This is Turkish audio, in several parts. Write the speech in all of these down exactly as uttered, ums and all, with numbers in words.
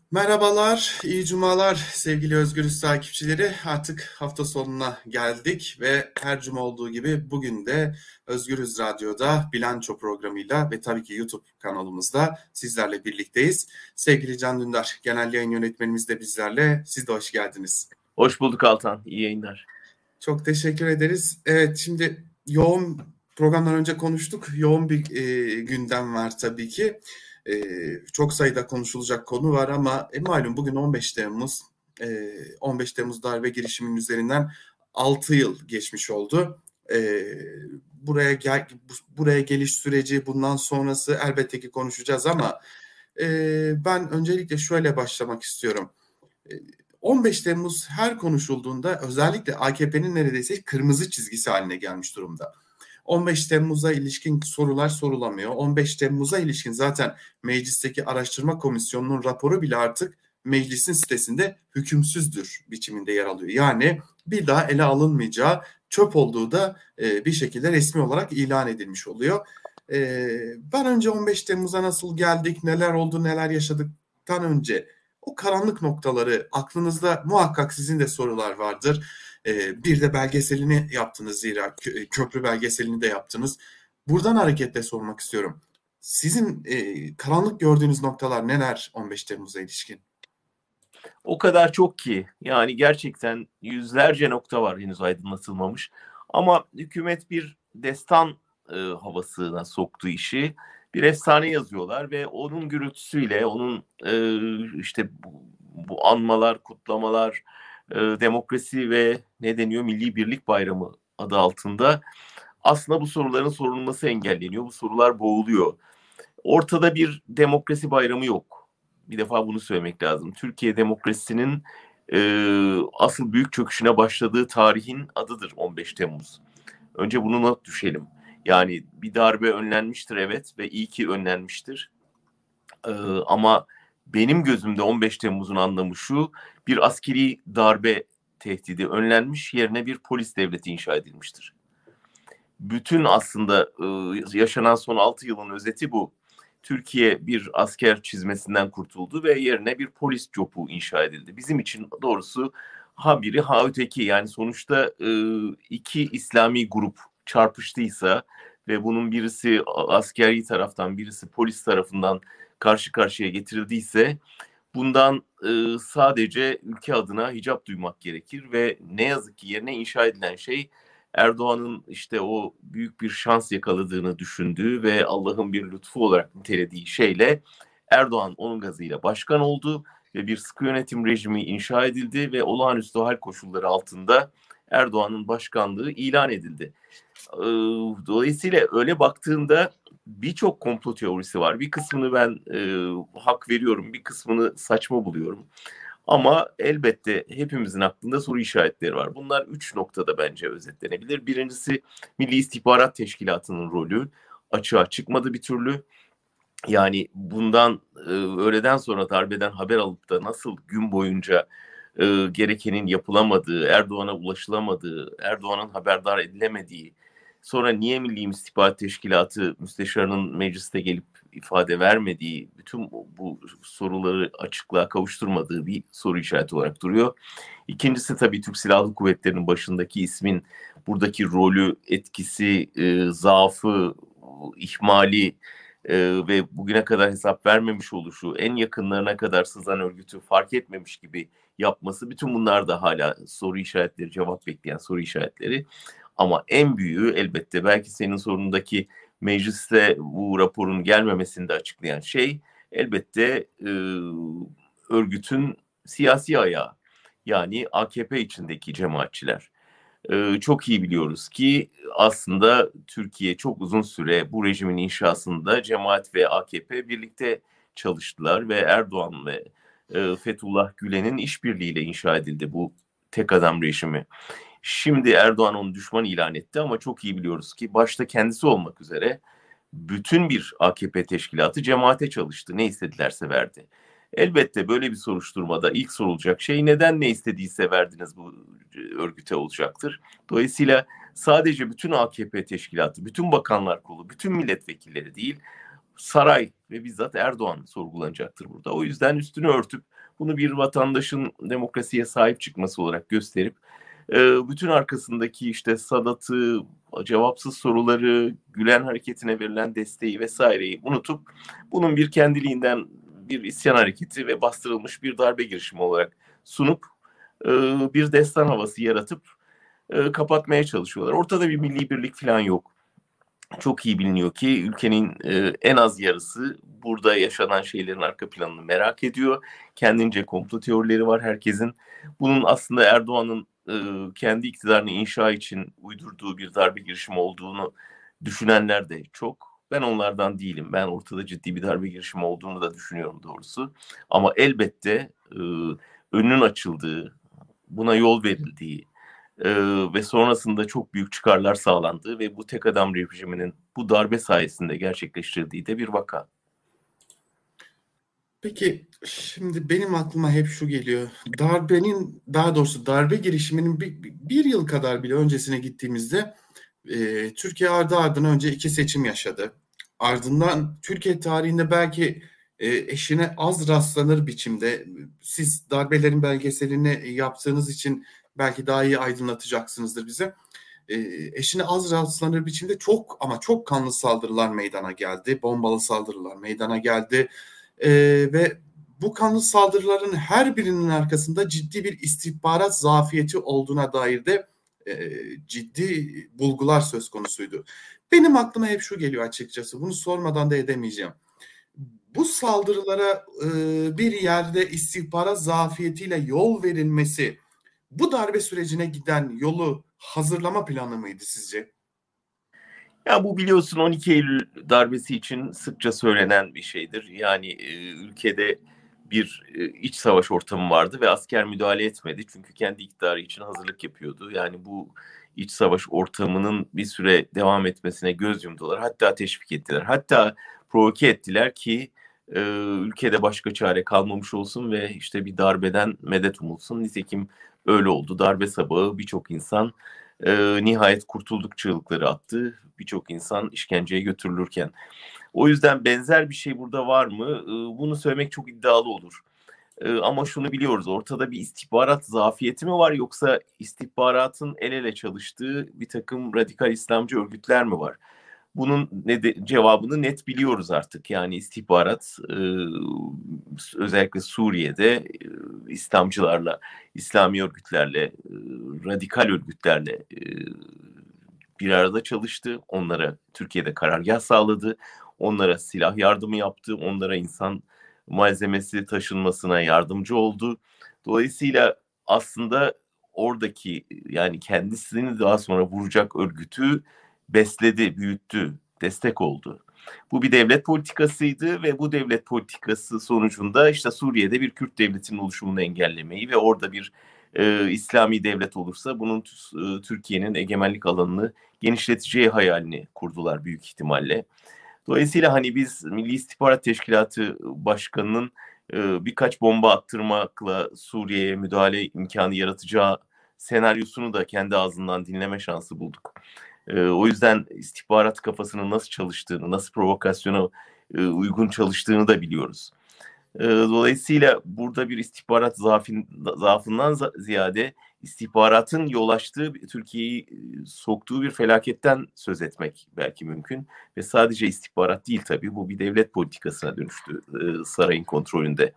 Merhabalar, iyi cumalar sevgili Özgürüz takipçileri. Artık hafta sonuna geldik ve her cuma olduğu gibi bugün de Özgürüz Radyo'da Bilanço programıyla ve tabii ki YouTube kanalımızda sizlerle birlikteyiz. Sevgili Can Dündar, genel yayın yönetmenimiz de bizlerle. Siz de hoş geldiniz. Hoş bulduk Altan, iyi yayınlar. Çok teşekkür ederiz. Evet, şimdi yoğun programdan önce konuştuk. Yoğun bir e, gündem var tabii ki. E, çok sayıda konuşulacak konu var ama e, malum bugün on beş Temmuz. E, on beş Temmuz darbe girişiminin üzerinden altı yıl geçmiş oldu. E, buraya gel, buraya geliş süreci, bundan sonrası elbette ki konuşacağız ama e, ben öncelikle şöyle başlamak istiyorum. on beş Temmuz her konuşulduğunda özellikle A K P'nin neredeyse kırmızı çizgisi haline gelmiş durumda. on beş Temmuz'a ilişkin sorular sorulamıyor. on beş Temmuz'a ilişkin zaten meclisteki araştırma komisyonunun raporu bile artık meclisin sitesinde hükümsüzdür biçiminde yer alıyor. Yani bir daha ele alınmayacağı, çöp olduğu da e, bir şekilde resmi olarak ilan edilmiş oluyor. E, ben önce on beş Temmuz'a nasıl geldik, neler oldu, neler yaşadıktan önce o karanlık noktaları aklınızda muhakkak sizin de sorular vardır. Ee, bir de belgeselini yaptınız zira köprü belgeselini de yaptınız. Buradan hareketle sormak istiyorum. Sizin e, karanlık gördüğünüz noktalar neler on beş Temmuz'a ilişkin? O kadar çok ki yani gerçekten yüzlerce nokta var henüz aydınlatılmamış. Ama hükümet bir destan e, havasına soktu işi. Bir efsane yazıyorlar ve onun gürültüsüyle, onun e, işte bu, bu anmalar, kutlamalar, e, demokrasi ve ne deniyor Milli Birlik Bayramı adı altında aslında bu soruların sorulması engelleniyor. Bu sorular boğuluyor. Ortada bir demokrasi bayramı yok. Bir defa bunu söylemek lazım. Türkiye demokrasisinin e, asıl büyük çöküşüne başladığı tarihin adıdır on beş Temmuz. Önce bunu not düşelim. Yani bir darbe önlenmiştir evet ve iyi ki önlenmiştir. E, ama benim gözümde on beş Temmuz'un anlamı şu: bir askeri darbe tehdidi önlenmiş, yerine bir polis devleti inşa edilmiştir. Bütün aslında e, yaşanan son altı yılın özeti bu. Türkiye bir asker çizmesinden kurtuldu ve yerine bir polis copu inşa edildi. Bizim için doğrusu ha biri ha öteki, yani sonuçta e, iki İslami grup çarpıştıysa ve bunun birisi askeri taraftan birisi polis tarafından karşı karşıya getirildiyse bundan e, sadece ülke adına hicap duymak gerekir ve ne yazık ki yerine inşa edilen şey Erdoğan'ın işte o büyük bir şans yakaladığını düşündüğü ve Allah'ın bir lütfu olarak nitelediği şeyle Erdoğan onun gazıyla başkan oldu ve bir sıkı yönetim rejimi inşa edildi ve olağanüstü hal koşulları altında Erdoğan'ın başkanlığı ilan edildi. Dolayısıyla öyle baktığında birçok komplo teorisi var. Bir kısmını ben e, hak veriyorum, bir kısmını saçma buluyorum. Ama elbette hepimizin aklında soru işaretleri var. Bunlar üç noktada bence özetlenebilir. Birincisi, Milli İstihbarat Teşkilatı'nın rolü açığa çıkmadı bir türlü. Yani bundan e, öğleden sonra darbeden haber alıp da nasıl gün boyunca e, gerekenin yapılamadığı, Erdoğan'a ulaşılamadığı, Erdoğan'ın haberdar edilemediği, sonra niye Milli İstihbarat Teşkilatı müsteşarının mecliste gelip ifade vermediği, bütün bu, bu soruları açıklığa kavuşturmadığı bir soru işareti olarak duruyor. İkincisi tabii Türk Silahlı Kuvvetleri'nin başındaki ismin buradaki rolü, etkisi, e, zaafı, ihmali e, ve bugüne kadar hesap vermemiş oluşu, en yakınlarına kadar sızan örgütü fark etmemiş gibi yapması, bütün bunlar da hala soru işaretleri, cevap bekleyen soru işaretleri. Ama en büyüğü elbette belki senin sorunundaki mecliste bu raporun gelmemesini de açıklayan şey elbette e, örgütün siyasi ayağı, yani A K P içindeki cemaatçiler. Ee, çok iyi biliyoruz ki aslında Türkiye çok uzun süre bu rejimin inşasında cemaat ve A K P birlikte çalıştılar ve Erdoğan ve e, Fethullah Gülen'in işbirliğiyle inşa edildi bu tek adam rejimi. Şimdi Erdoğan onu düşman ilan etti ama çok iyi biliyoruz ki başta kendisi olmak üzere bütün bir A K P teşkilatı cemaate çalıştı. Ne istedilerse verdi. Elbette böyle bir soruşturmada ilk sorulacak şey neden ne istediyse verdiniz bu örgüte olacaktır. Dolayısıyla sadece bütün A K P teşkilatı, bütün bakanlar kolu, bütün milletvekilleri değil, saray ve bizzat Erdoğan sorgulanacaktır burada. O yüzden üstünü örtüp bunu bir vatandaşın demokrasiye sahip çıkması olarak gösterip bütün arkasındaki işte Sadat'ı, cevapsız soruları, Gülen hareketine verilen desteği vesaireyi unutup bunun bir kendiliğinden bir isyan hareketi ve bastırılmış bir darbe girişimi olarak sunup bir destan havası yaratıp kapatmaya çalışıyorlar. Ortada bir milli birlik falan yok. Çok iyi biliniyor ki ülkenin en az yarısı burada yaşanan şeylerin arka planını merak ediyor. Kendince komplo teorileri var herkesin. Bunun aslında Erdoğan'ın kendi iktidarını inşa için uydurduğu bir darbe girişimi olduğunu düşünenler de çok. Ben onlardan değilim. Ben ortada ciddi bir darbe girişimi olduğunu da düşünüyorum doğrusu. Ama elbette önünün açıldığı, buna yol verildiği ve sonrasında çok büyük çıkarlar sağlandığı ve bu tek adam rejiminin bu darbe sayesinde gerçekleştirdiği de bir vaka. Peki şimdi benim aklıma hep şu geliyor. Darbenin, daha doğrusu darbe girişiminin bir, bir yıl kadar bile öncesine gittiğimizde e, Türkiye ardı ardına önce iki seçim yaşadı. Ardından Türkiye tarihinde belki e, eşine az rastlanır biçimde, siz darbelerin belgeselini yaptığınız için belki daha iyi aydınlatacaksınızdır bize. E, eşine az rastlanır biçimde çok ama çok kanlı saldırılar meydana geldi. Bombalı saldırılar meydana geldi. Ee, ve bu kanlı saldırıların her birinin arkasında ciddi bir istihbarat zafiyeti olduğuna dair de e, ciddi bulgular söz konusuydu. Benim aklıma hep şu geliyor açıkçası, bunu sormadan da edemeyeceğim. Bu saldırılara e, bir yerde istihbarat zafiyetiyle yol verilmesi, bu darbe sürecine giden yolu hazırlama planı mıydı sizce? Ya bu biliyorsun on iki Eylül darbesi için sıkça söylenen bir şeydir. Yani e, ülkede bir e, iç savaş ortamı vardı ve asker müdahale etmedi. Çünkü kendi iktidarı için hazırlık yapıyordu. Yani bu iç savaş ortamının bir süre devam etmesine göz yumdular. Hatta teşvik ettiler. Hatta provoke ettiler ki e, ülkede başka çare kalmamış olsun ve işte bir darbeden medet umulsun. Nitekim öyle oldu. Darbe sabahı birçok insan e, nihayet kurtulduk çığlıkları attı. Birçok insan işkenceye götürülürken. O yüzden benzer bir şey burada var mı? E, bunu söylemek çok iddialı olur. E, ama şunu biliyoruz, ortada bir istihbarat zafiyeti mi var, yoksa istihbaratın el ele çalıştığı bir takım radikal İslamcı örgütler mi var? Bunun ne de, cevabını net biliyoruz artık. Yani istihbarat e, özellikle Suriye'de e, İslamcılarla, İslami örgütlerle, e, radikal örgütlerle e, bir arada çalıştı. Onlara Türkiye'de karargah sağladı. Onlara silah yardımı yaptı. Onlara insan malzemesi taşınmasına yardımcı oldu. Dolayısıyla aslında oradaki, yani kendisini daha sonra vuracak örgütü besledi, büyüttü, destek oldu. Bu bir devlet politikasıydı ve bu devlet politikası sonucunda işte Suriye'de bir Kürt devletinin oluşumunu engellemeyi ve orada bir e, İslami devlet olursa bunun e, Türkiye'nin egemenlik alanını genişleteceği hayalini kurdular büyük ihtimalle. Dolayısıyla hani biz Milli İstihbarat Teşkilatı Başkanı'nın e, birkaç bomba attırmakla Suriye'ye müdahale imkanı yaratacağı senaryosunu da kendi ağzından dinleme şansı bulduk. E, o yüzden istihbarat kafasının nasıl çalıştığını, nasıl provokasyona e, uygun çalıştığını da biliyoruz. E, dolayısıyla burada bir istihbarat zaafin, zaafından ziyade istihbaratın yol açtığı, Türkiye'yi soktuğu bir felaketten söz etmek belki mümkün. Ve sadece istihbarat değil tabii, bu bir devlet politikasına dönüştü e, sarayın kontrolünde.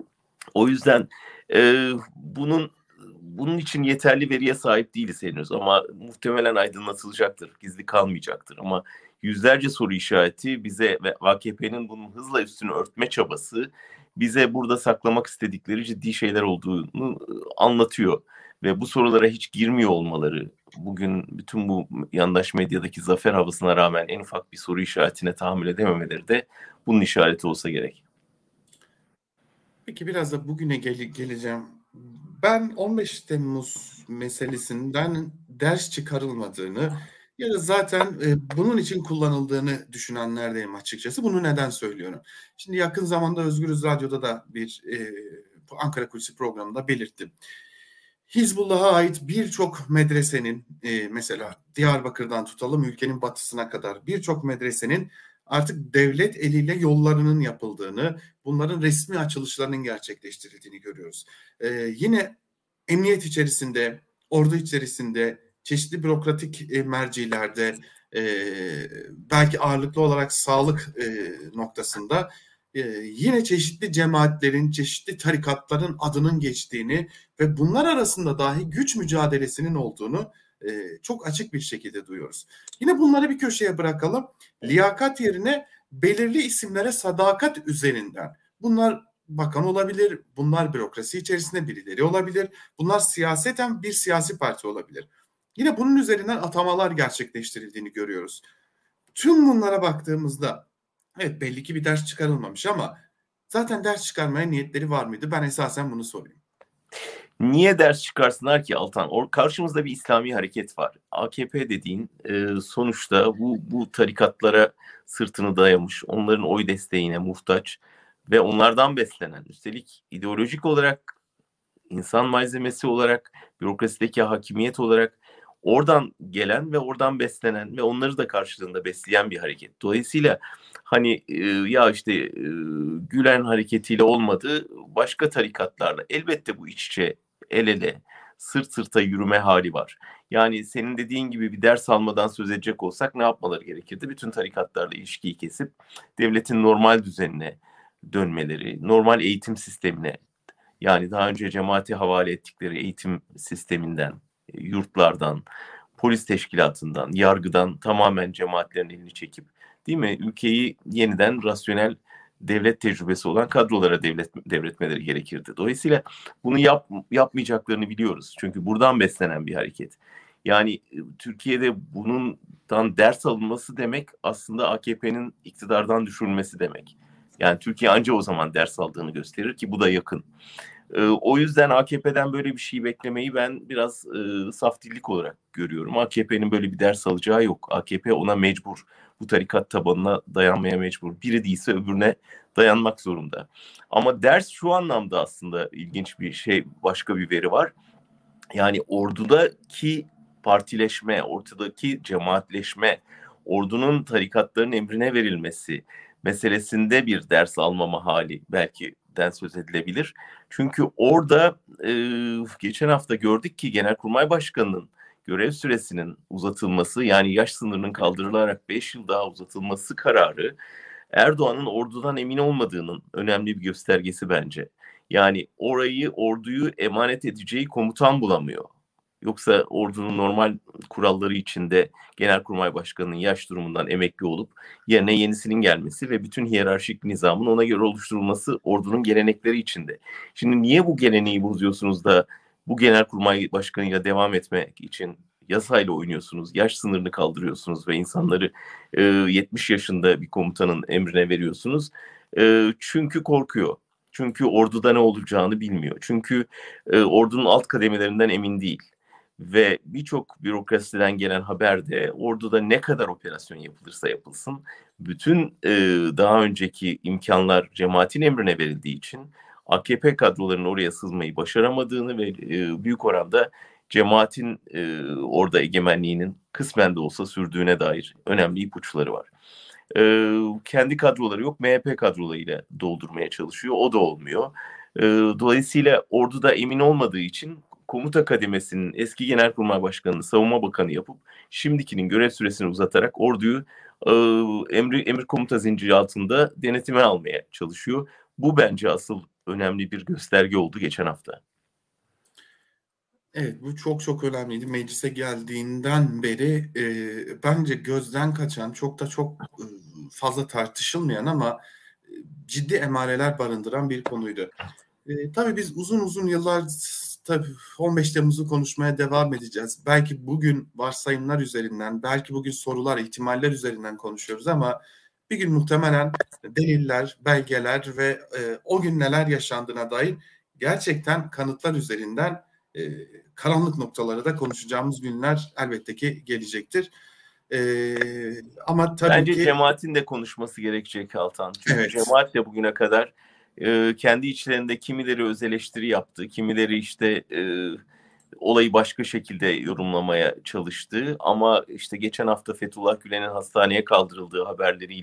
O yüzden e, bunun bunun için yeterli veriye sahip değiliz henüz, ama muhtemelen aydınlatılacaktır, gizli kalmayacaktır. Ama yüzlerce soru işareti bize ve A K P'nin bunun hızla üstünü örtme çabası bize burada saklamak istedikleri ciddi şeyler olduğunu anlatıyor. Ve bu sorulara hiç girmiyor olmaları, bugün bütün bu yandaş medyadaki zafer havasına rağmen en ufak bir soru işaretine tahammül edememeleri de bunun işareti olsa gerek. Peki biraz da bugüne gel- geleceğim. Ben on beş Temmuz meselesinden ders çıkarılmadığını ya da zaten e, bunun için kullanıldığını düşünenlerdeyim açıkçası. Bunu neden söylüyorum? Şimdi yakın zamanda Özgürüz Radyo'da da bir e, Ankara Kulisi programında belirttim. Hizbullah'a ait birçok medresenin, e, mesela Diyarbakır'dan tutalım ülkenin batısına kadar birçok medresenin artık devlet eliyle yollarının yapıldığını, bunların resmi açılışlarının gerçekleştirildiğini görüyoruz. Ee, yine emniyet içerisinde, ordu içerisinde, çeşitli bürokratik e, mercilerde, e, belki ağırlıklı olarak sağlık e, noktasında e, yine çeşitli cemaatlerin, çeşitli tarikatların adının geçtiğini ve bunlar arasında dahi güç mücadelesinin olduğunu e, çok açık bir şekilde duyuyoruz. Yine bunları bir köşeye bırakalım. Liyakat yerine belirli isimlere sadakat üzerinden. Bunlar bakan olabilir, bunlar bürokrasi içerisinde birileri olabilir, bunlar siyaseten bir siyasi parti olabilir. Yine bunun üzerinden atamalar gerçekleştirildiğini görüyoruz. Tüm bunlara baktığımızda evet belli ki bir ders çıkarılmamış ama zaten ders çıkarmaya niyetleri var mıydı? Ben esasen bunu sorayım. Niye ders çıkarsınlar ki Altan? Or karşımızda bir İslami hareket var. A K P dediğin e, sonuçta bu, bu tarikatlara sırtını dayamış, onların oy desteğine muhtaç ve onlardan beslenen, üstelik ideolojik olarak, insan malzemesi olarak, bürokrasideki hakimiyet olarak oradan gelen ve oradan beslenen ve onları da karşılığında besleyen bir hareket. Dolayısıyla hani e, ya işte e, Gülen hareketiyle olmadı, başka tarikatlarla elbette bu iç içe, el ele, sırt sırta yürüme hali var. Yani senin dediğin gibi bir ders almadan söz edecek olsak ne yapmaları gerekirdi? Bütün tarikatlarla ilişkiyi kesip devletin normal düzenine dönmeleri, normal eğitim sistemine, yani daha önce cemaati havale ettikleri eğitim sisteminden, yurtlardan, polis teşkilatından, yargıdan tamamen cemaatlerin elini çekip, değil mi, ülkeyi yeniden rasyonel devlet tecrübesi olan kadrolara devlet, devretmeleri gerekirdi. Dolayısıyla bunu yap, yapmayacaklarını biliyoruz. Çünkü buradan beslenen bir hareket. Yani Türkiye'de bundan ders alınması demek aslında A K P'nin iktidardan düşürülmesi demek. Yani Türkiye anca o zaman ders aldığını gösterir ki bu da yakın. E, o yüzden A K P'den böyle bir şey beklemeyi ben biraz e, saftillik olarak görüyorum. A K P'nin böyle bir ders alacağı yok. A K P ona mecbur. Bu tarikat tabanına dayanmaya mecbur. Biri değilse öbürüne dayanmak zorunda. Ama ders şu anlamda aslında ilginç bir şey, başka bir veri var. Yani ordudaki partileşme, ortadaki cemaatleşme, ordunun tarikatların emrine verilmesi meselesinde bir ders almama hali belki den söz edilebilir. Çünkü orada e, geçen hafta gördük ki Genelkurmay Başkanı'nın görev süresinin uzatılması, yani yaş sınırının kaldırılarak beş yıl daha uzatılması kararı Erdoğan'ın ordudan emin olmadığının önemli bir göstergesi bence. Yani orayı, orduyu emanet edeceği komutan bulamıyor. Yoksa ordunun normal kuralları içinde Genelkurmay Başkanı'nın yaş durumundan emekli olup yerine yenisinin gelmesi ve bütün hiyerarşik nizamın ona göre oluşturulması ordunun gelenekleri içinde. Şimdi niye bu geleneği bozuyorsunuz da bu Genelkurmay Başkanı'yla devam etmek için yasayla oynuyorsunuz, yaş sınırını kaldırıyorsunuz ve insanları e, yetmiş yaşında bir komutanın emrine veriyorsunuz? E, çünkü korkuyor. Çünkü orduda ne olacağını bilmiyor. Çünkü e, ordunun alt kademelerinden emin değil. Ve birçok bürokrasiden gelen haberde orduda ne kadar operasyon yapılırsa yapılsın, bütün e, daha önceki imkanlar cemaatin emrine verildiği için A K P kadrolarının oraya sızmayı başaramadığını ve e, büyük oranda cemaatin e, orada egemenliğinin kısmen de olsa sürdüğüne dair önemli ipuçları var. E, kendi kadroları yok, M H P kadrolarıyla doldurmaya çalışıyor, o da olmuyor. E, dolayısıyla orduda emin olmadığı için komuta kademesinin eski Genelkurmay Başkanı'nı Savunma Bakanı yapıp şimdikinin görev süresini uzatarak orduyu e, emri, emir komuta zinciri altında denetime almaya çalışıyor. Bu bence asıl önemli bir gösterge oldu geçen hafta. Evet, bu çok çok önemliydi. Meclise geldiğinden beri e, bence gözden kaçan, çok da çok e, fazla tartışılmayan ama e, ciddi emareler barındıran bir konuydu. E, tabii biz uzun uzun yıllar tabii on beş Temmuz'u konuşmaya devam edeceğiz. Belki bugün varsayımlar üzerinden, belki bugün sorular, ihtimaller üzerinden konuşuyoruz ama bir gün muhtemelen deliller, belgeler ve e, o gün neler yaşandığına dair gerçekten kanıtlar üzerinden e, karanlık noktaları da konuşacağımız günler elbette ki gelecektir. E, ama tabii Bence ki cemaatin de konuşması gerekecek Altan. Çünkü evet. cemaat de bugüne kadar e, kendi içlerinde kimileri öz eleştiri yaptı, kimileri işte e, olayı başka şekilde yorumlamaya çalıştı. Ama işte geçen hafta Fethullah Gülen'in hastaneye kaldırıldığı haberleriyle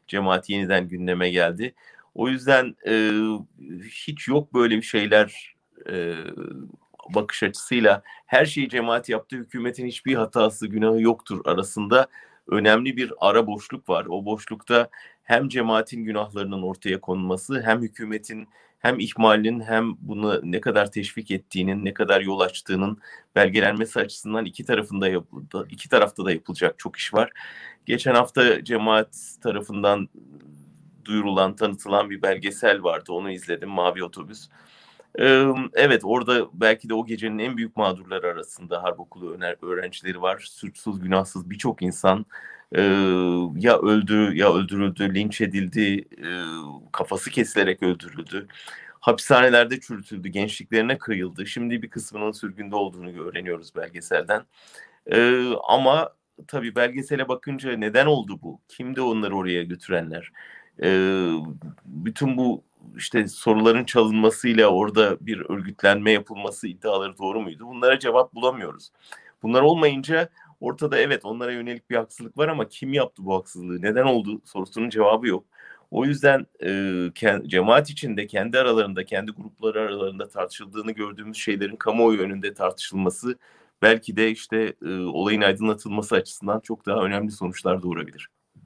cemaat yeniden gündeme geldi. O yüzden e, hiç yok böyle bir şeyler e, bakış açısıyla her şeyi cemaat yaptı, hükümetin hiçbir hatası, günahı yoktur arasında önemli bir ara boşluk var. O boşlukta hem cemaatin günahlarının ortaya konulması, hem hükümetin hem ihmalinin hem bunu ne kadar teşvik ettiğinin, ne kadar yol açtığının belgelenmesi açısından iki tarafında yapıldı, iki tarafta da yapılacak çok iş var. Geçen hafta cemaat tarafından duyurulan, tanıtılan bir belgesel vardı. Onu izledim, Mavi Otobüs. Ee, evet, orada belki de o gecenin en büyük mağdurları arasında harp okulu öğrencileri var. Suçsuz, günahsız birçok insan e, ya öldü, ya öldürüldü, linç edildi, e, kafası kesilerek öldürüldü. Hapishanelerde çürütüldü, gençliklerine kıyıldı. Şimdi bir kısmının sürgünde olduğunu öğreniyoruz belgeselden. Ee, ama tabii belgesele bakınca neden oldu bu? Kimdi onları oraya götürenler? Ee, bütün bu işte soruların çalınmasıyla orada bir örgütlenme yapılması iddiaları doğru muydu? Bunlara cevap bulamıyoruz. Bunlar olmayınca ortada evet onlara yönelik bir haksızlık var ama kim yaptı bu haksızlığı? Neden oldu sorusunun cevabı yok. O yüzden e, cemaat içinde kendi aralarında, kendi grupları aralarında tartışıldığını gördüğümüz şeylerin kamuoyu önünde tartışılması belki de işte e, olayın aydınlatılması açısından çok daha önemli sonuçlar doğurabilir.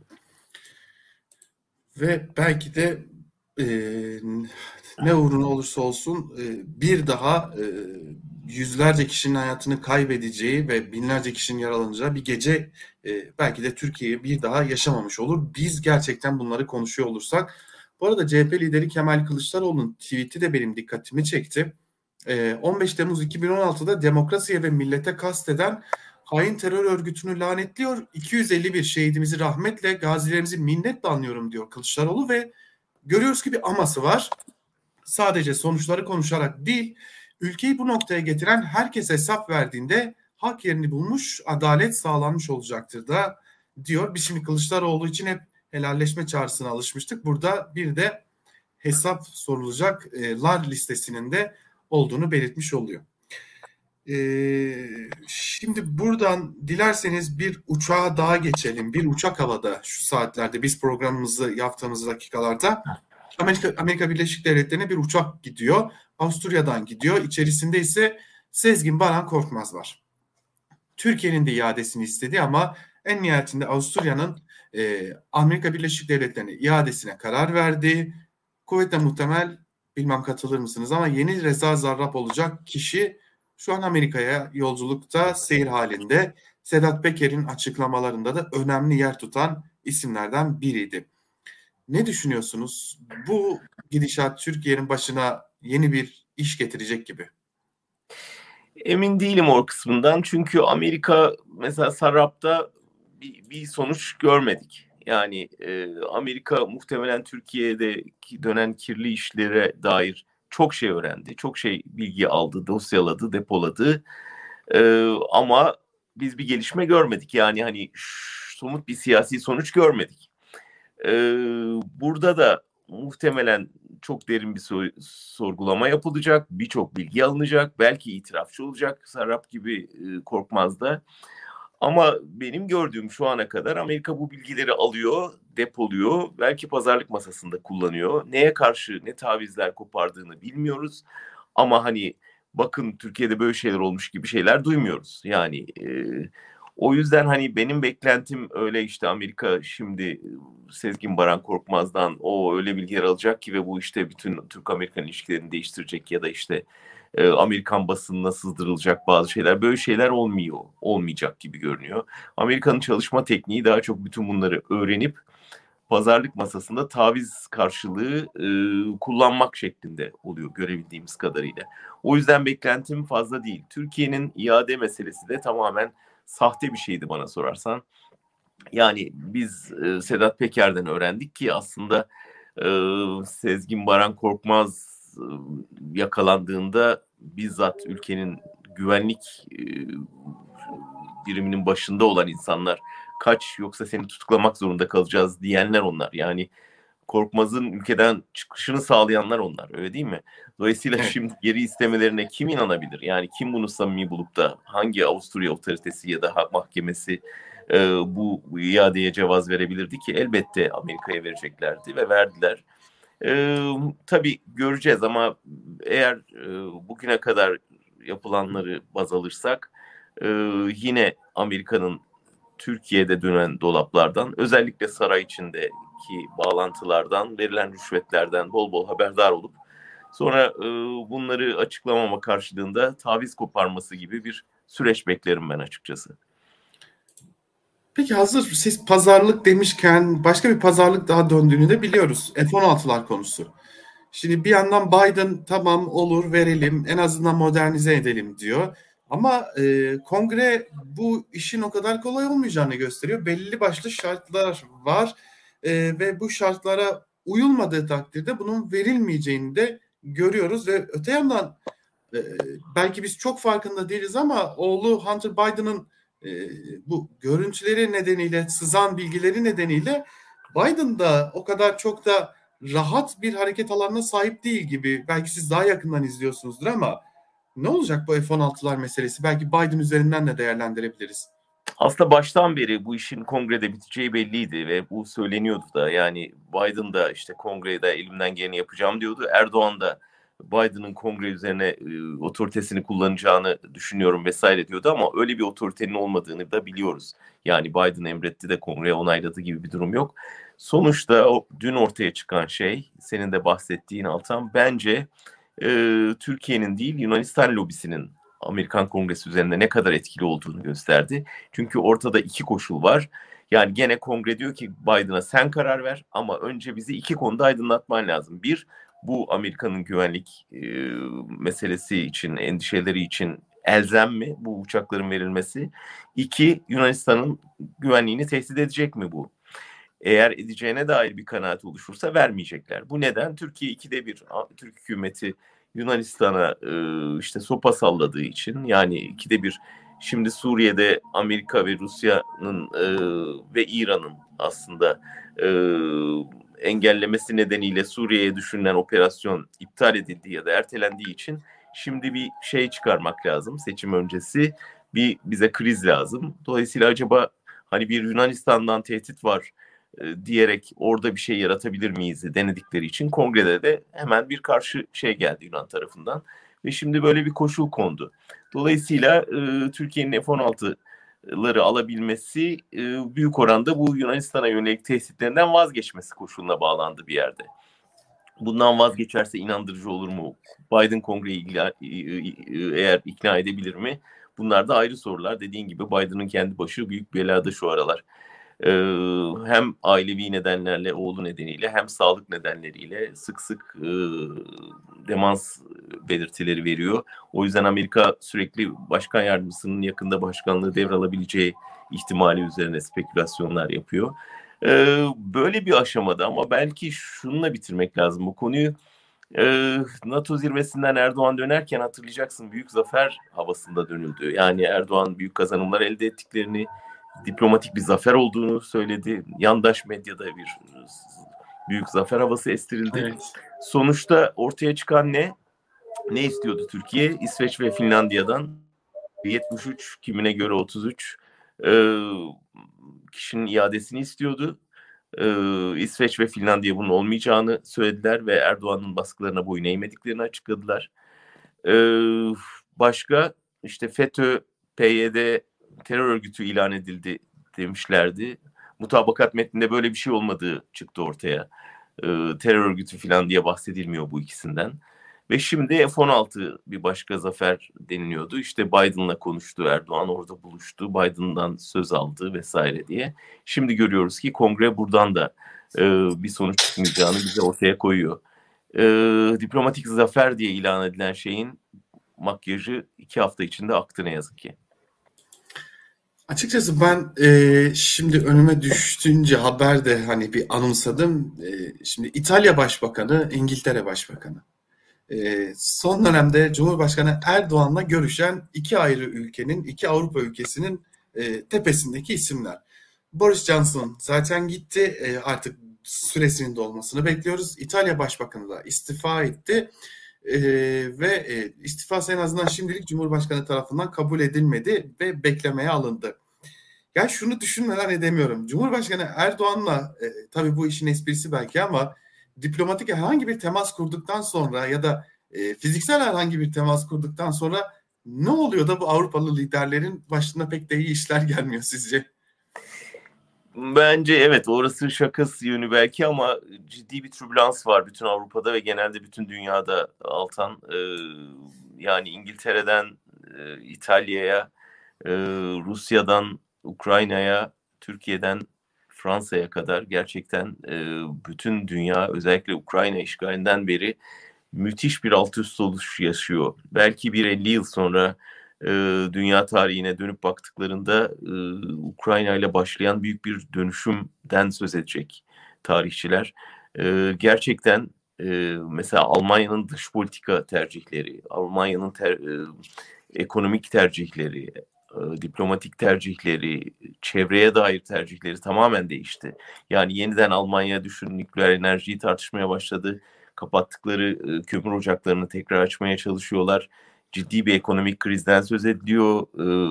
Ve belki de e, ne uğruna olursa olsun e, bir daha e, yüzlerce kişinin hayatını kaybedeceği ve binlerce kişinin yaralanacağı bir gece e, belki de Türkiye'yi bir daha yaşamamış olur. Biz gerçekten bunları konuşuyor olursak. Bu arada C H P lideri Kemal Kılıçdaroğlu'nun tweet'i de benim dikkatimi çekti. E, on beş Temmuz iki bin on altıda demokrasiye ve millete kasteden hain terör örgütünü lanetliyor. iki yüz elli bir şehidimizi rahmetle, gazilerimizi minnetle anıyorum diyor Kılıçdaroğlu ve görüyoruz ki bir aması var. Sadece sonuçları konuşarak değil, ülkeyi bu noktaya getiren herkes hesap verdiğinde hak yerini bulmuş, adalet sağlanmış olacaktır da diyor. Biz şimdi Kılıçdaroğlu için hep helalleşme çağrısına alışmıştık. Burada bir de hesap sorulacaklar listesinin de olduğunu belirtmiş oluyor. Ee, şimdi buradan dilerseniz bir uçağa daha geçelim. Bir uçak havada şu saatlerde biz programımızı yaptığımız dakikalarda Amerika, Amerika Birleşik Devletleri'ne bir uçak gidiyor. Avusturya'dan gidiyor. İçerisinde ise Sezgin Baran Korkmaz var. Türkiye'nin de iadesini istedi ama en nihayetinde Avusturya'nın e, Amerika Birleşik Devletleri'ne iadesine karar verdi. Kuvvetle muhtemel, bilmem katılır mısınız ama yeni Reza Zarrab olacak kişi şu an Amerika'ya yolculukta, seyir halinde. Sedat Peker'in açıklamalarında da önemli yer tutan isimlerden biriydi. Ne düşünüyorsunuz? Bu gidişat Türkiye'nin başına yeni bir iş getirecek gibi. Emin değilim o kısmından. Çünkü Amerika mesela Sarrab'da bir, bir sonuç görmedik. Yani e, Amerika muhtemelen Türkiye'deki dönen kirli işlere dair çok şey öğrendi. Çok şey bilgi aldı, dosyaladı, depoladı. E, ama biz bir gelişme görmedik. Yani hani somut bir siyasi sonuç görmedik. E, burada da muhtemelen çok derin bir so- sorgulama yapılacak, birçok bilgi alınacak, belki itirafçı olacak Sarrab gibi e, Korkmaz da. Ama benim gördüğüm şu ana kadar Amerika bu bilgileri alıyor, depoluyor, belki pazarlık masasında kullanıyor. Neye karşı ne tavizler kopardığını bilmiyoruz. Ama hani bakın Türkiye'de böyle şeyler olmuş gibi şeyler duymuyoruz. Yani e, o yüzden hani benim beklentim öyle işte Amerika şimdi Sezgin Baran Korkmaz'dan o öyle bilgiler alacak ki ve bu işte bütün Türk-Amerikan ilişkilerini değiştirecek ya da işte e, Amerikan basınına sızdırılacak bazı şeyler. Böyle şeyler olmuyor, olmayacak gibi görünüyor. Amerika'nın çalışma tekniği daha çok bütün bunları öğrenip pazarlık masasında taviz karşılığı e, kullanmak şeklinde oluyor görebildiğimiz kadarıyla. O yüzden beklentim fazla değil. Türkiye'nin iade meselesi de tamamen sahte bir şeydi bana sorarsan. Yani biz e, Sedat Peker'den öğrendik ki aslında e, Sezgin Baran Korkmaz e, yakalandığında bizzat ülkenin güvenlik e, biriminin başında olan insanlar kaç yoksa seni tutuklamak zorunda kalacağız diyenler onlar. Yani Korkmaz'ın ülkeden çıkışını sağlayanlar onlar, öyle değil mi? Dolayısıyla Evet. şimdi geri istemelerine kim inanabilir? Yani kim bunu samimi bulup da hangi Avusturya otoritesi ya da mahkemesi e, bu, bu iadeye cevaz verebilirdi ki elbette Amerika'ya vereceklerdi ve verdiler. E, tabii göreceğiz ama eğer e, bugüne kadar yapılanları baz alırsak e, yine Amerika'nın Türkiye'de dönen dolaplardan, özellikle saray içindeki bağlantılardan, verilen rüşvetlerden bol bol haberdar olup sonra e, bunları açıklamama karşılığında taviz koparması gibi bir süreç beklerim ben açıkçası. Peki hazır siz pazarlık demişken başka bir pazarlık daha döndüğünü de biliyoruz. F on altılar konusu. Şimdi bir yandan Biden tamam olur verelim en azından modernize edelim diyor. Ama e, kongre bu işin o kadar kolay olmayacağını gösteriyor. Belli başlı şartlar var e, ve bu şartlara uyulmadığı takdirde bunun verilmeyeceğini de görüyoruz. Ve öte yandan e, belki biz çok farkında değiliz ama oğlu Hunter Biden'ın e, bu görüntüleri nedeniyle, sızan bilgileri nedeniyle Biden da o kadar çok da rahat bir hareket alanına sahip değil gibi. Belki siz daha yakından izliyorsunuzdur ama ne olacak bu F on altılar meselesi? Belki Biden üzerinden de değerlendirebiliriz. Aslında baştan beri bu işin kongrede biteceği belliydi ve bu söyleniyordu da. Yani Biden da işte kongrede elimden geleni yapacağım diyordu. Erdoğan da Biden'ın kongre üzerine e, otoritesini kullanacağını düşünüyorum vesaire diyordu ama öyle bir otoritenin olmadığını da biliyoruz. Yani Biden emretti de kongre onayladı gibi bir durum yok. Sonuçta o, dün ortaya çıkan şey, senin de bahsettiğin Altan, bence e, Türkiye'nin değil Yunanistan lobisinin Amerikan Kongresi üzerinde ne kadar etkili olduğunu gösterdi. Çünkü ortada iki koşul var. Yani gene kongre diyor ki Biden'a sen karar ver ama önce bizi iki konuda aydınlatman lazım. Bir, bu Amerika'nın güvenlik e, meselesi için, endişeleri için elzem mi bu uçakların verilmesi? İki, Yunanistan'ın güvenliğini tehdit edecek mi bu? Eğer edeceğine dair bir kanaat oluşursa vermeyecekler. Bu neden? Türkiye ikide bir, Türk hükümeti Yunanistan'a e, işte sopa salladığı için, yani ikide bir, şimdi Suriye'de Amerika ve Rusya'nın e, ve İran'ın aslında e, engellemesi nedeniyle Suriye'ye düşünülen operasyon iptal edildiği ya da ertelendiği için şimdi bir şey çıkarmak lazım. Seçim öncesi bir bize kriz lazım. Dolayısıyla acaba hani bir Yunanistan'dan tehdit var diyerek orada bir şey yaratabilir miyiz denedikleri için kongrede de hemen bir karşı şey geldi Yunan tarafından ve şimdi böyle bir koşul kondu. Dolayısıyla e, Türkiye'nin F on altıları alabilmesi e, büyük oranda bu Yunanistan'a yönelik tehditlerinden vazgeçmesi koşuluna bağlandı bir yerde. Bundan vazgeçerse inandırıcı olur mu? Biden kongreyi eğer ikna edebilir mi? Bunlar da ayrı sorular. Dediğin gibi Biden'ın kendi başı büyük belada şu aralar. Ee, hem ailevi nedenlerle, oğlu nedeniyle, hem sağlık nedenleriyle sık sık e, demans belirtileri veriyor. O yüzden Amerika sürekli başkan yardımcısının yakında başkanlığı devralabileceği ihtimali üzerine spekülasyonlar yapıyor. Ee, böyle bir aşamada ama belki şununla bitirmek lazım bu konuyu. Ee, NATO zirvesinden Erdoğan dönerken hatırlayacaksın, büyük zafer havasında dönüldü. Yani Erdoğan büyük kazanımlar elde ettiklerini, diplomatik bir zafer olduğunu söyledi. Yandaş medyada bir büyük zafer havası estirildi. Evet. Sonuçta ortaya çıkan ne? Ne istiyordu Türkiye? İsveç ve Finlandiya'dan yetmiş üç, kimine göre otuz üç e, kişinin iadesini istiyordu. Ee, İsveç ve Finlandiya bunun olmayacağını söylediler ve Erdoğan'ın baskılarına boyun eğmediklerini açıkladılar. Ee, başka işte FETÖ, P Y D terör örgütü ilan edildi demişlerdi. Mutabakat metninde böyle bir şey olmadığı çıktı ortaya. Ee, terör örgütü falan diye bahsedilmiyor bu ikisinden. Ve şimdi F on altı bir başka zafer deniliyordu. İşte Biden'la konuştu Erdoğan, orada buluştu, Biden'dan söz aldı vesaire diye. Şimdi görüyoruz ki kongre buradan da e, bir sonuç çıkmayacağını bize ortaya koyuyor. E, diplomatik zafer diye ilan edilen şeyin makyajı iki hafta içinde aktı ne yazık ki. Açıkçası ben e, şimdi önüme düştüğünce haber de hani bir anımsadım. E, şimdi İtalya Başbakanı, İngiltere Başbakanı. E, son dönemde Cumhurbaşkanı Erdoğan'la görüşen iki ayrı ülkenin, iki Avrupa ülkesinin e, tepesindeki isimler. Boris Johnson zaten gitti, e, artık süresinin dolmasını bekliyoruz. İtalya Başbakanı da istifa etti. Ee, ve e, istifası en azından şimdilik Cumhurbaşkanı tarafından kabul edilmedi ve beklemeye alındı. Ya şunu düşünmeden edemiyorum. Cumhurbaşkanı Erdoğan'la e, tabii bu işin esprisi belki ama diplomatik herhangi bir temas kurduktan sonra ya da e, fiziksel herhangi bir temas kurduktan sonra ne oluyor da bu Avrupalı liderlerin başına pek de iyi işler gelmiyor sizce? Bence evet, orası şakası yönü belki ama ciddi bir türbülans var bütün Avrupa'da ve genelde bütün dünyada Altan. Ee, yani İngiltere'den e, İtalya'ya, e, Rusya'dan Ukrayna'ya, Türkiye'den Fransa'ya kadar gerçekten e, bütün dünya özellikle Ukrayna işgalinden beri müthiş bir alt üst oluş yaşıyor. Belki bir elli yıl sonra e, dünya tarihine dönüp baktıklarında e, Ukrayna ile başlayan büyük bir dönüşümden söz edecek tarihçiler. E, gerçekten e, mesela Almanya'nın dış politika tercihleri, Almanya'nın ter, e, ekonomik tercihleri, e, diplomatik tercihleri, çevreye dair tercihleri tamamen değişti. Yani yeniden Almanya düşün, nükleer enerjiyi tartışmaya başladı. Kapattıkları e, kömür ocaklarını tekrar açmaya çalışıyorlar. Ciddi bir ekonomik krizden söz ediliyor.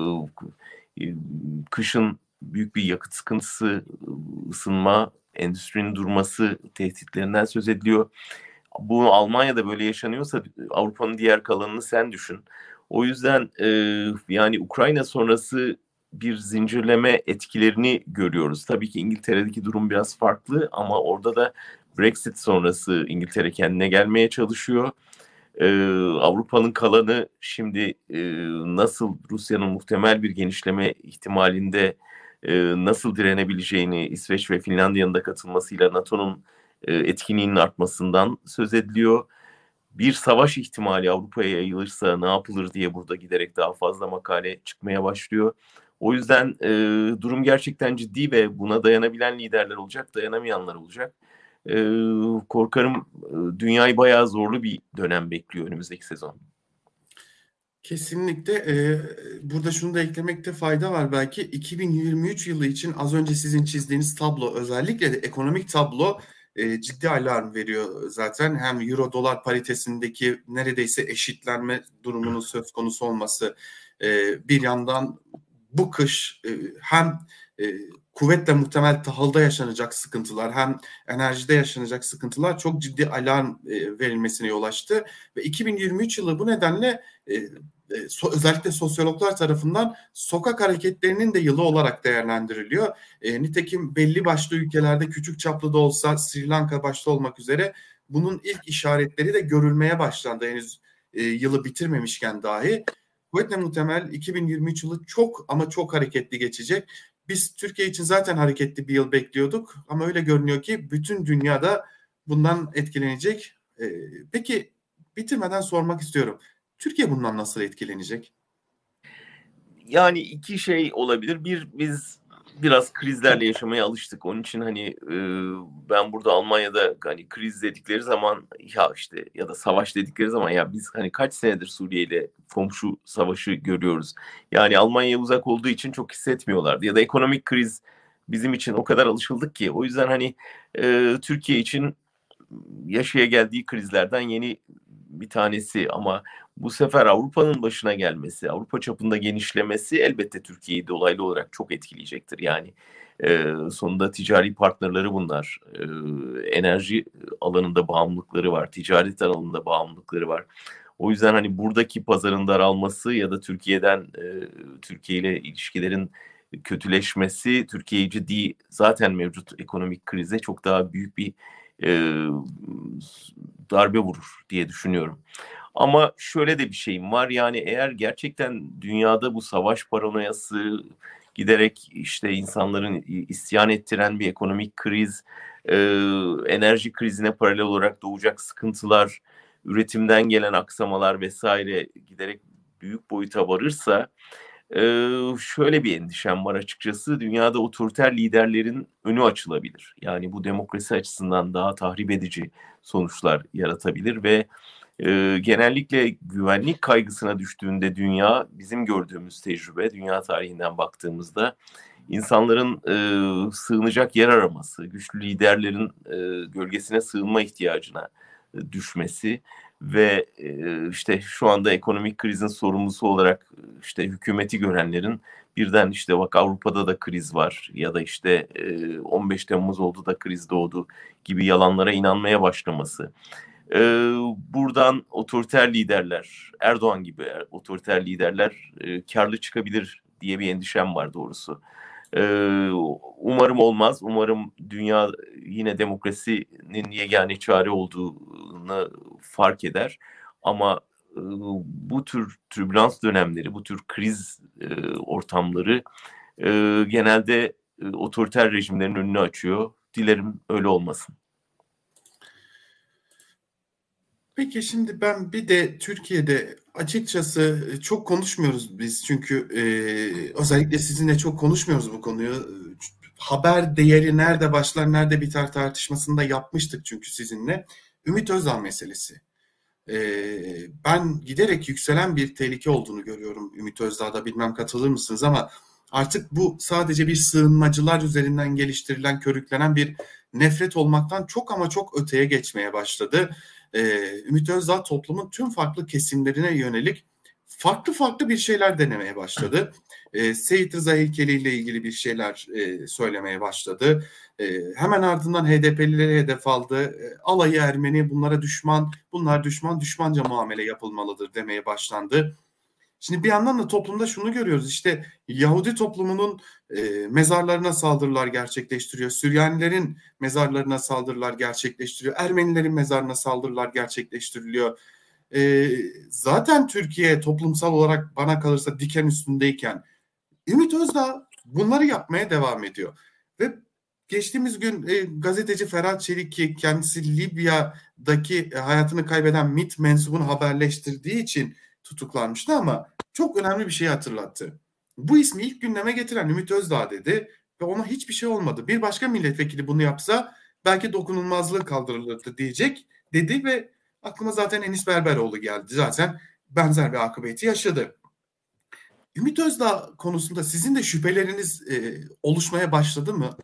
E, kışın büyük bir yakıt sıkıntısı, ısınma, endüstrinin durması tehditlerinden söz ediliyor. Bu Almanya'da böyle yaşanıyorsa Avrupa'nın diğer kalanını sen düşün. O yüzden e, yani Ukrayna sonrası bir zincirleme etkilerini görüyoruz. Tabii ki İngiltere'deki durum biraz farklı ama orada da Brexit sonrası İngiltere kendine gelmeye çalışıyor. Ee, Avrupa'nın kalanı şimdi e, nasıl Rusya'nın muhtemel bir genişleme ihtimalinde e, nasıl direnebileceğini İsveç ve Finlandiya'nın da katılmasıyla NATO'nun e, etkinliğinin artmasından söz ediliyor. Bir savaş ihtimali Avrupa'ya yayılırsa ne yapılır diye burada giderek daha fazla makale çıkmaya başlıyor. O yüzden e, durum gerçekten ciddi ve buna dayanabilen liderler olacak, dayanamayanlar olacak. E, korkarım e, dünyayı bayağı zorlu bir dönem bekliyor önümüzdeki sezon. Kesinlikle. E, burada şunu da eklemekte fayda var belki. iki bin yirmi üç yılı için az önce sizin çizdiğiniz tablo, özellikle de ekonomik tablo e, ciddi alarm veriyor zaten. Hem euro dolar paritesindeki neredeyse eşitlenme durumunun söz konusu olması, e, bir yandan bu kış e, hem e, kuvvetle muhtemel tahılda yaşanacak sıkıntılar hem enerjide yaşanacak sıkıntılar çok ciddi alarm e, verilmesine yol açtı ve iki bin yirmi üç yılı bu nedenle e, So, özellikle sosyologlar tarafından sokak hareketlerinin de yılı olarak değerlendiriliyor. E, nitekim belli başlı ülkelerde küçük çaplı da olsa Sri Lanka başta olmak üzere bunun ilk işaretleri de görülmeye başlandı henüz e, yılı bitirmemişken dahi. Kuvvetle muhtemel iki bin yirmi üç yılı çok ama çok hareketli geçecek. Biz Türkiye için zaten hareketli bir yıl bekliyorduk ama öyle görünüyor ki bütün dünyada bundan etkilenecek. E, peki bitirmeden sormak istiyorum. Türkiye bundan nasıl etkilenecek? Yani iki şey olabilir. Bir, biz biraz krizlerle yaşamaya alıştık. Onun için hani e, ben burada Almanya'da hani kriz dedikleri zaman ya işte ya da savaş dedikleri zaman ya biz hani kaç senedir Suriye ile komşu savaşı görüyoruz. Yani Almanya'ya uzak olduğu için çok hissetmiyorlardı. Ya da ekonomik kriz bizim için o kadar alışıldık ki. O yüzden hani e, Türkiye için yaşaya geldiği krizlerden yeni bir tanesi ama bu sefer Avrupa'nın başına gelmesi, Avrupa çapında genişlemesi elbette Türkiye'yi dolaylı olarak çok etkileyecektir. Yani e, sonunda ticari partnerleri bunlar. E, enerji alanında bağımlılıkları var, ticaret alanında bağımlılıkları var. O yüzden hani buradaki pazarın daralması ya da Türkiye'den e, Türkiye ile ilişkilerin kötüleşmesi Türkiye'yi ciddi zaten mevcut ekonomik krize çok daha büyük bir e, darbe vurur diye düşünüyorum. Ama şöyle de bir şeyim var yani eğer gerçekten dünyada bu savaş paranoyası giderek işte insanların isyan ettiren bir ekonomik kriz, e, enerji krizine paralel olarak doğacak sıkıntılar, üretimden gelen aksamalar vesaire giderek büyük boyuta varırsa ee, şöyle bir endişem var açıkçası. Dünyada otoriter liderlerin önü açılabilir. Yani bu demokrasi açısından daha tahrip edici sonuçlar yaratabilir ve e, genellikle güvenlik kaygısına düştüğünde dünya, bizim gördüğümüz tecrübe, dünya tarihinden baktığımızda insanların e, sığınacak yer araması, güçlü liderlerin e, gölgesine sığınma ihtiyacına e, düşmesi ve e, işte şu anda ekonomik krizin sorumlusu olarak işte hükümeti görenlerin birden işte bak Avrupa'da da kriz var ya da işte e, on beş Temmuz oldu da kriz doğdu gibi yalanlara inanmaya başlaması. E, buradan otoriter liderler, Erdoğan gibi otoriter liderler e, karlı çıkabilir diye bir endişem var doğrusu. Ee, umarım olmaz. Umarım dünya yine demokrasinin yegane çare olduğunu fark eder. Ama e, bu tür türbülans dönemleri, bu tür kriz e, ortamları e, genelde e, otoriter rejimlerin önünü açıyor. Dilerim öyle olmasın. Peki şimdi ben bir de Türkiye'de açıkçası çok konuşmuyoruz biz çünkü e, özellikle sizinle çok konuşmuyoruz bu konuyu. Haber değeri nerede başlar nerede biter tartışmasını da yapmıştık çünkü sizinle. Ümit Özdağ meselesi. E, ben giderek yükselen bir tehlike olduğunu görüyorum Ümit Özdağ'da, bilmem katılır mısınız ama artık bu sadece bir sığınmacılar üzerinden geliştirilen, körüklenen bir nefret olmaktan çok ama çok öteye geçmeye başladı. Ee, Ümit Özdağ toplumun tüm farklı kesimlerine yönelik farklı farklı bir şeyler denemeye başladı. Ee, Seyit Rıza heykeli ile ilgili bir şeyler e, söylemeye başladı. Ee, hemen ardından H D P'lileri hedef aldı. Ee, alayı Ermeni, bunlara düşman, bunlar düşman, düşmanca muamele yapılmalıdır demeye başlandı. Şimdi bir yandan da toplumda şunu görüyoruz, işte Yahudi toplumunun e, mezarlarına saldırılar gerçekleştiriyor. Süryanilerin mezarlarına saldırılar gerçekleştiriyor. Ermenilerin mezarına saldırılar gerçekleştiriliyor. E, zaten Türkiye toplumsal olarak bana kalırsa diken üstündeyken Ümit Özdağ bunları yapmaya devam ediyor. Ve geçtiğimiz gün e, gazeteci Ferhat Çelik, ki kendisi Libya'daki e, hayatını kaybeden MİT mensubunu haberleştirdiği için tutuklanmıştı ama çok önemli bir şey hatırlattı. Bu ismi ilk gündeme getiren Ümit Özdağ dedi ve ona hiçbir şey olmadı. Bir başka milletvekili bunu yapsa belki dokunulmazlığı kaldırılırdı diyecek dedi ve aklıma zaten Enis Berberoğlu geldi. Zaten benzer bir akıbeti yaşadı. Ümit Özdağ konusunda sizin de şüpheleriniz e, oluşmaya başladı mı?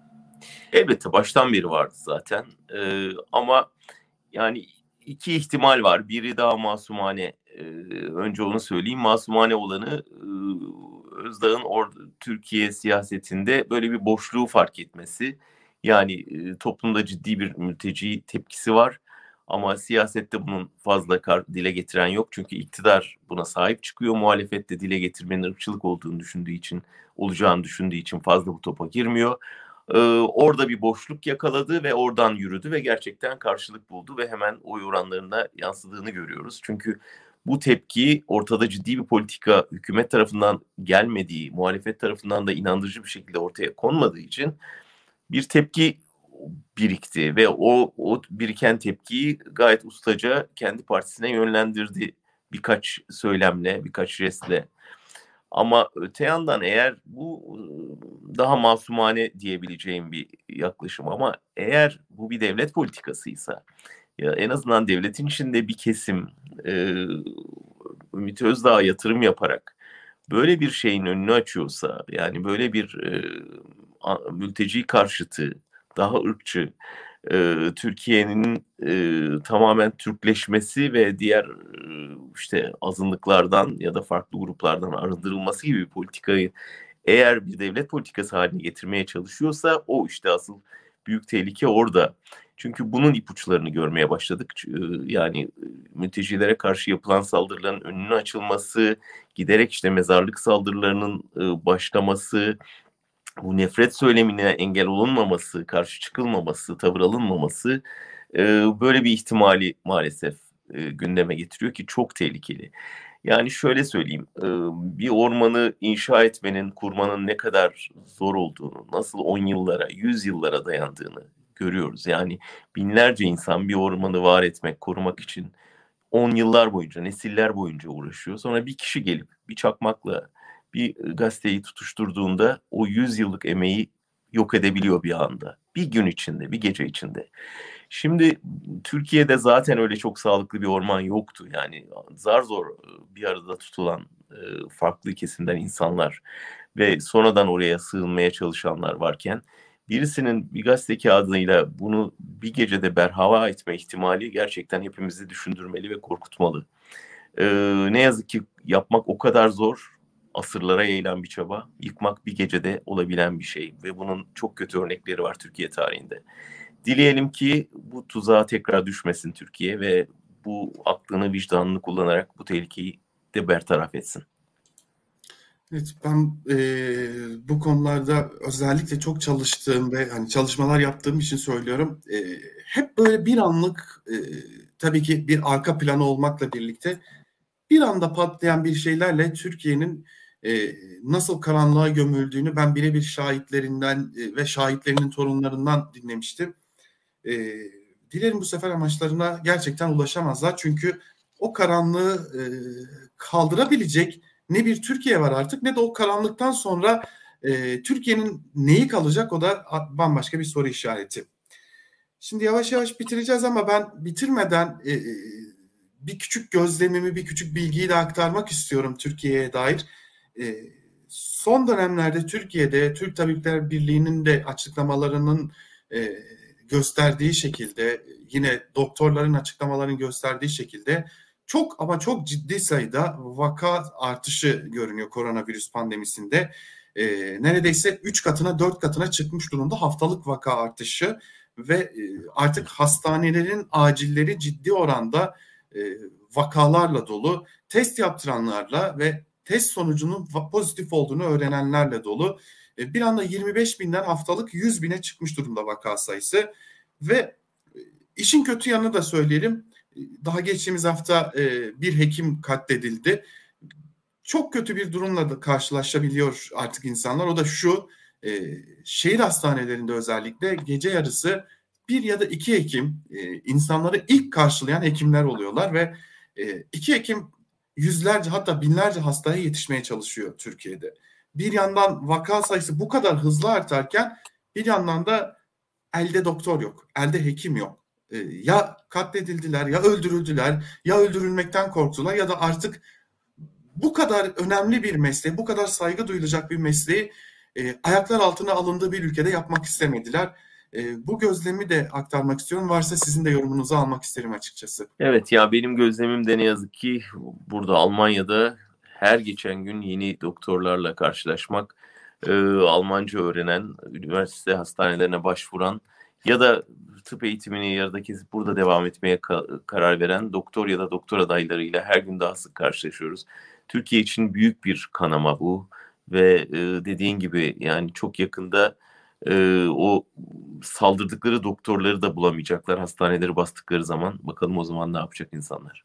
Elbette baştan beri vardı zaten. Ee, ama yani iki ihtimal var. Biri daha masumane. Ee, önce onu söyleyeyim. Masumane olanı e, Özdağ'ın or- Türkiye siyasetinde böyle bir boşluğu fark etmesi. Yani e, toplumda ciddi bir mülteci tepkisi var. Ama siyasette bunun fazla kar- dile getiren yok. Çünkü iktidar buna sahip çıkıyor. Muhalefette dile getirmenin ırkçılık olduğunu düşündüğü için, olacağını düşündüğü için fazla bu topa girmiyor. Ee, orada bir boşluk yakaladı ve oradan yürüdü ve gerçekten karşılık buldu ve hemen oy oranlarına yansıdığını görüyoruz. Çünkü bu tepki ortada ciddi bir politika hükümet tarafından gelmediği, muhalefet tarafından da inandırıcı bir şekilde ortaya konmadığı için bir tepki birikti ve o, o biriken tepkiyi gayet ustaca kendi partisine yönlendirdi birkaç söylemle, birkaç jestle. Ama öte yandan eğer bu daha masumane diyebileceğim bir yaklaşım ama eğer bu bir devlet politikasıysa ya en azından devletin içinde bir kesim e, Ümit Özdağ'a yatırım yaparak böyle bir şeyin önünü açıyorsa yani böyle bir e, mülteci karşıtı daha ırkçı e, Türkiye'nin e, tamamen Türkleşmesi ve diğer e, işte azınlıklardan ya da farklı gruplardan arındırılması gibi bir politikayı eğer bir devlet politikası haline getirmeye çalışıyorsa o işte asıl büyük tehlike orada. Çünkü bunun ipuçlarını görmeye başladık. Yani mültecilere karşı yapılan saldırıların önünün açılması, giderek işte mezarlık saldırılarının başlaması, bu nefret söylemine engel olunmaması, karşı çıkılmaması, tavır alınmaması böyle bir ihtimali maalesef gündeme getiriyor ki çok tehlikeli. Yani şöyle söyleyeyim, bir ormanı inşa etmenin, kurmanın ne kadar zor olduğunu, nasıl on yıllara, yüz yıllara dayandığını görüyoruz. Yani binlerce insan bir ormanı var etmek, korumak için on yıllar boyunca, nesiller boyunca uğraşıyor. Sonra bir kişi gelip bir çakmakla bir gazeteyi tutuşturduğunda o yüz yıllık emeği yok edebiliyor bir anda. Bir gün içinde, bir gece içinde. Şimdi Türkiye'de zaten öyle çok sağlıklı bir orman yoktu. Yani zar zor bir arada tutulan farklı kesimden insanlar ve sonradan oraya sığınmaya çalışanlar varken birisinin bir gazete kağıdıyla bunu bir gecede berhava etme ihtimali gerçekten hepimizi düşündürmeli ve korkutmalı. Ee, ne yazık ki yapmak o kadar zor, asırlara yayılan bir çaba. Yıkmak bir gecede olabilen bir şey ve bunun çok kötü örnekleri var Türkiye tarihinde. Dileyelim ki bu tuzağa tekrar düşmesin Türkiye ve bu aklını, vicdanını kullanarak bu tehlikeyi de bertaraf etsin. Evet, ben e, bu konularda özellikle çok çalıştığım ve hani çalışmalar yaptığım için söylüyorum. E, hep böyle bir anlık, e, tabii ki bir arka planı olmakla birlikte bir anda patlayan bir şeylerle Türkiye'nin e, nasıl karanlığa gömüldüğünü ben birebir şahitlerinden e, ve şahitlerinin torunlarından dinlemiştim. E, Dilerim bu sefer amaçlarına gerçekten ulaşamazlar. Çünkü o karanlığı e, kaldırabilecek ne bir Türkiye var artık ne de o karanlıktan sonra e, Türkiye'nin neyi kalacak, o da bambaşka bir soru işareti. Şimdi yavaş yavaş bitireceğiz ama ben bitirmeden e, bir küçük gözlemimi, bir küçük bilgiyi de aktarmak istiyorum Türkiye'ye dair. E, son dönemlerde Türkiye'de Türk Tabipler Birliği'nin de açıklamalarının e, gösterdiği şekilde, yine doktorların açıklamalarının gösterdiği şekilde çok ama çok ciddi sayıda vaka artışı görünüyor koronavirüs pandemisinde. E, neredeyse üç katına dört katına çıkmış durumda haftalık vaka artışı ve artık hastanelerin acilleri ciddi oranda e, vakalarla dolu, test yaptıranlarla ve test sonucunun pozitif olduğunu öğrenenlerle dolu. E, bir anda yirmi beş binden haftalık yüz bine çıkmış durumda vaka sayısı ve işin kötü yanını da söyleyelim. Daha geçtiğimiz hafta e, bir hekim katledildi. Çok kötü bir durumla da karşılaşabiliyor artık insanlar. O da şu: e, şehir hastanelerinde özellikle gece yarısı bir ya da iki hekim e, insanları ilk karşılayan hekimler oluyorlar ve e, iki hekim yüzlerce hatta binlerce hastaya yetişmeye çalışıyor Türkiye'de. Bir yandan vaka sayısı bu kadar hızlı artarken bir yandan da elde doktor yok, elde hekim yok. E, ya katledildiler, ya öldürüldüler, ya öldürülmekten korktular ya da artık bu kadar önemli bir mesleği, bu kadar saygı duyulacak bir mesleği e, ayaklar altına alındığı bir ülkede yapmak istemediler. E, bu gözlemi de aktarmak istiyorum. Varsa sizin de yorumunuzu almak isterim açıkçası. Evet, ya benim gözlemim de ne yazık ki burada Almanya'da her geçen gün yeni doktorlarla karşılaşmak, e, Almanca öğrenen, üniversite hastanelerine başvuran ya da tıp eğitimini yarıda kesip burada devam etmeye ka- karar veren doktor ya da doktor adaylarıyla her gün daha sık karşılaşıyoruz. Türkiye için büyük bir kanama bu ve e, dediğin gibi yani çok yakında e, o saldırdıkları doktorları da bulamayacaklar hastaneleri bastıkları zaman. Bakalım o zaman ne yapacak insanlar?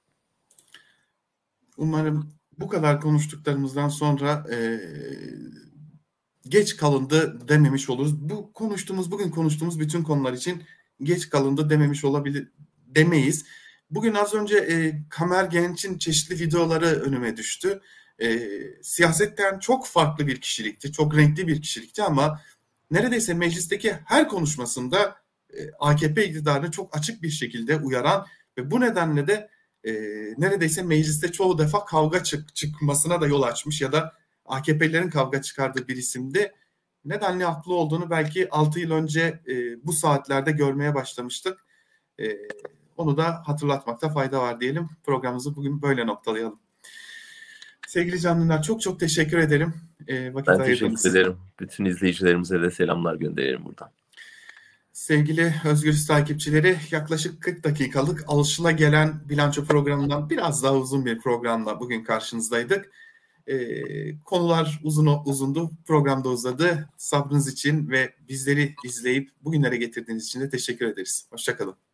Umarım bu kadar konuştuklarımızdan sonra e, geç kalındı dememiş oluruz. Bu konuştuğumuz, bugün konuştuğumuz bütün konular için geç kalındı dememiş olabilir, demeyiz. Bugün az önce e, Kamer Genç'in çeşitli videoları önüme düştü. E, siyasetten çok farklı bir kişilikti, çok renkli bir kişilikti ama neredeyse meclisteki her konuşmasında e, A K P iktidarını çok açık bir şekilde uyaran ve bu nedenle de e, neredeyse mecliste çoğu defa kavga çık çıkmasına da yol açmış ya da A K P'lilerin kavga çıkardığı bir isimdi. Nedenle haklı olduğunu belki altı yıl önce e, bu saatlerde görmeye başlamıştık. E, onu da hatırlatmakta fayda var diyelim. Programımızı bugün böyle noktalayalım. Sevgili canlılar, çok çok teşekkür ederim. E, vakit Ben ayırdınız. teşekkür ederim. Bütün izleyicilerimize de selamlar gönderelim buradan. Sevgili Özgürüz takipçileri, yaklaşık kırk dakikalık alışılagelen bilanço programından biraz daha uzun bir programla bugün karşınızdaydık. Ee, konular uzun uzundu, programda uzadı. Sabrınız için ve bizleri izleyip bugünlere getirdiğiniz için de teşekkür ederiz. Hoşça kalın.